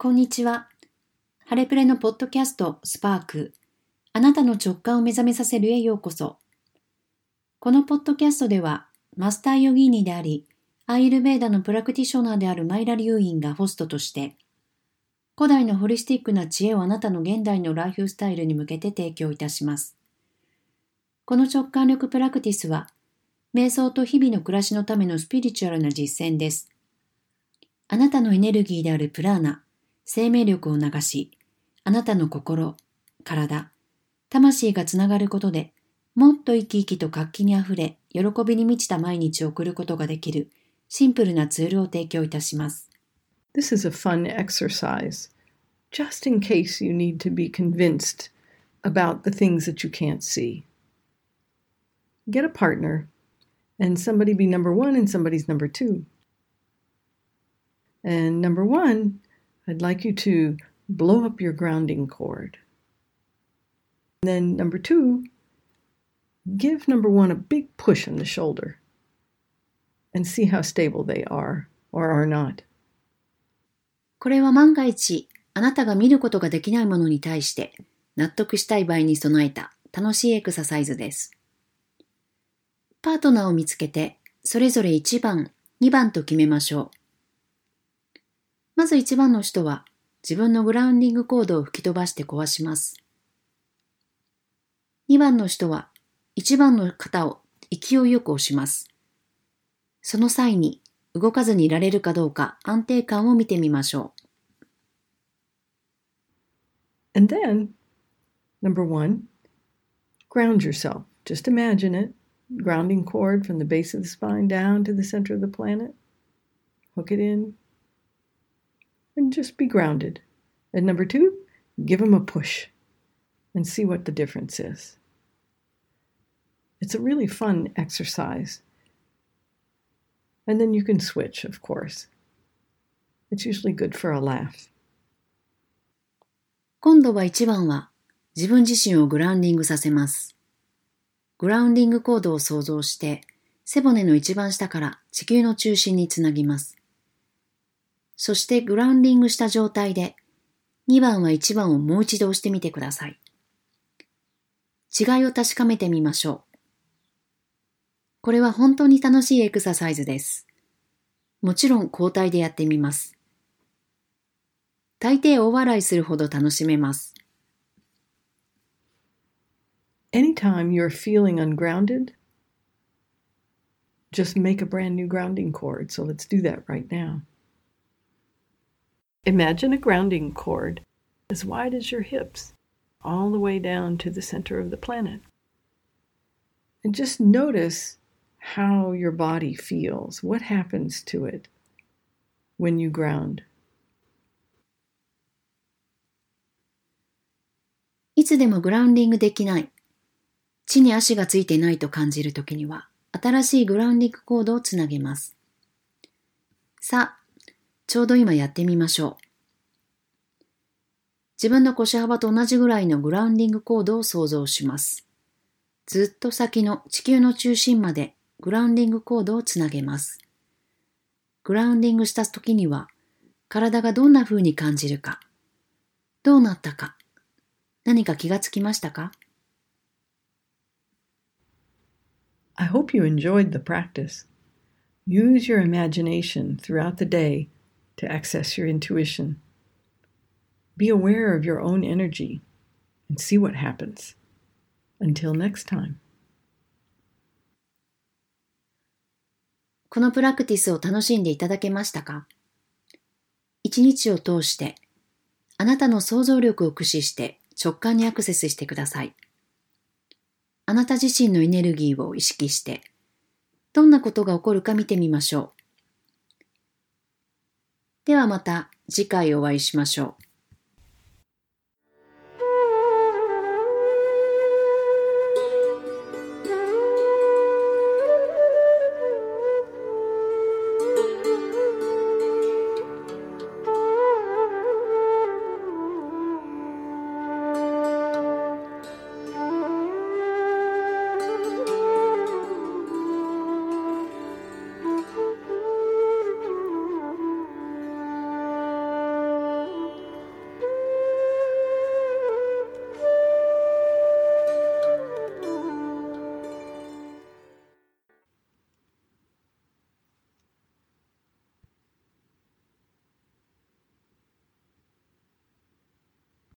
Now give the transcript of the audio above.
こんにちは。ハレプレのポッドキャストスパーク、あなたの直感を目覚めさせるへようこそ。このポッドキャストでは、マスターヨギーニであり、アーユルヴェーダのプラクティショナーであるマイラ・リュウインがホストとして、古代のホリスティックな知恵をあなたの現代のライフスタイルに向けて提供いたします。この直感力プラクティスは、瞑想と日々の暮らしのためのスピリチュアルな実践です。あなたのエネルギーであるプラーナ、生命力を流し、あなたの心、体、魂がつながることで、もっと生き生きと活気にあふれ、喜びに満ちた毎日を送ることができるシンプルなツールを提供いたします。 This is a fun exercise, just in case you need to be convinced about the things that you can't see. Get a partner, and somebody be number one and somebody's number two. And number one, I'd like you to blow up your grounding cord. And then number two, give number one a big push on the shoulder and see how stable they are or are not. これは万が一、あなたが見ることができないものに対して納得したい場合に備えた楽しいエクササイズです。パートナーを見つけて、それぞれ1番、2番と決めましょう。まず1番の人は、自分のグラウンディングコードを吹き飛ばして壊します。2番の人は、1番の肩を勢いよく押します。その際に、動かずにいられるかどうか安定感を見てみましょう。 And then, number one, ground yourself. Just imagine it. Grounding cord from the base of the spine down to the center of the planet. Hook it in. And just be grounded. And number two, give them a push and see what the difference is. It's a really fun exercise. And then you can switch, of course. It's usually good for a laugh. 今度は1番は自分自身をグラウンディングさせます。グラウンディングコードを想像して背骨の一番下から地球の中心につなぎます。そしてグラウンディングした状態で2番は1番をもう一度押してみてください。違いを確かめてみましょう。これは本当に楽しいエクササイズです。もちろん交代でやってみます。大抵大笑いするほど楽しめます。 Anytime you're feeling ungrounded, just make a brand new grounding cord. So let's do that right now. Imagine a grounding cord as wide as your hips, all the way down to the center of the planet. And just notice how your body feels. What happens to it when you ground? いつでもグラウンディングできない、地に足がついていないと感じるときには、新しいグラウンディングコードをつなげます。さあ、ちょうど今やってみましょう。自分の腰幅と同じぐらいのグラウンディングコードを想像します。ずっと先の地球の中心までグラウンディングコードをつなげます。グラウンディングした時には、体がどんな風に感じるか、どうなったか、何か気がつきましたか？ I hope you enjoyed the practice. Use your imagination throughout the day to access your intuition. Be aware of your own energy and see what happens. Until next time. このプラクティスを楽しんでいただけましたか？一日を通して、あなたの想像力を駆使して直感にアクセスしてください。あなた自身のエネルギーを意識して、どんなことが起こるか見てみましょう。ではまた次回お会いしましょう。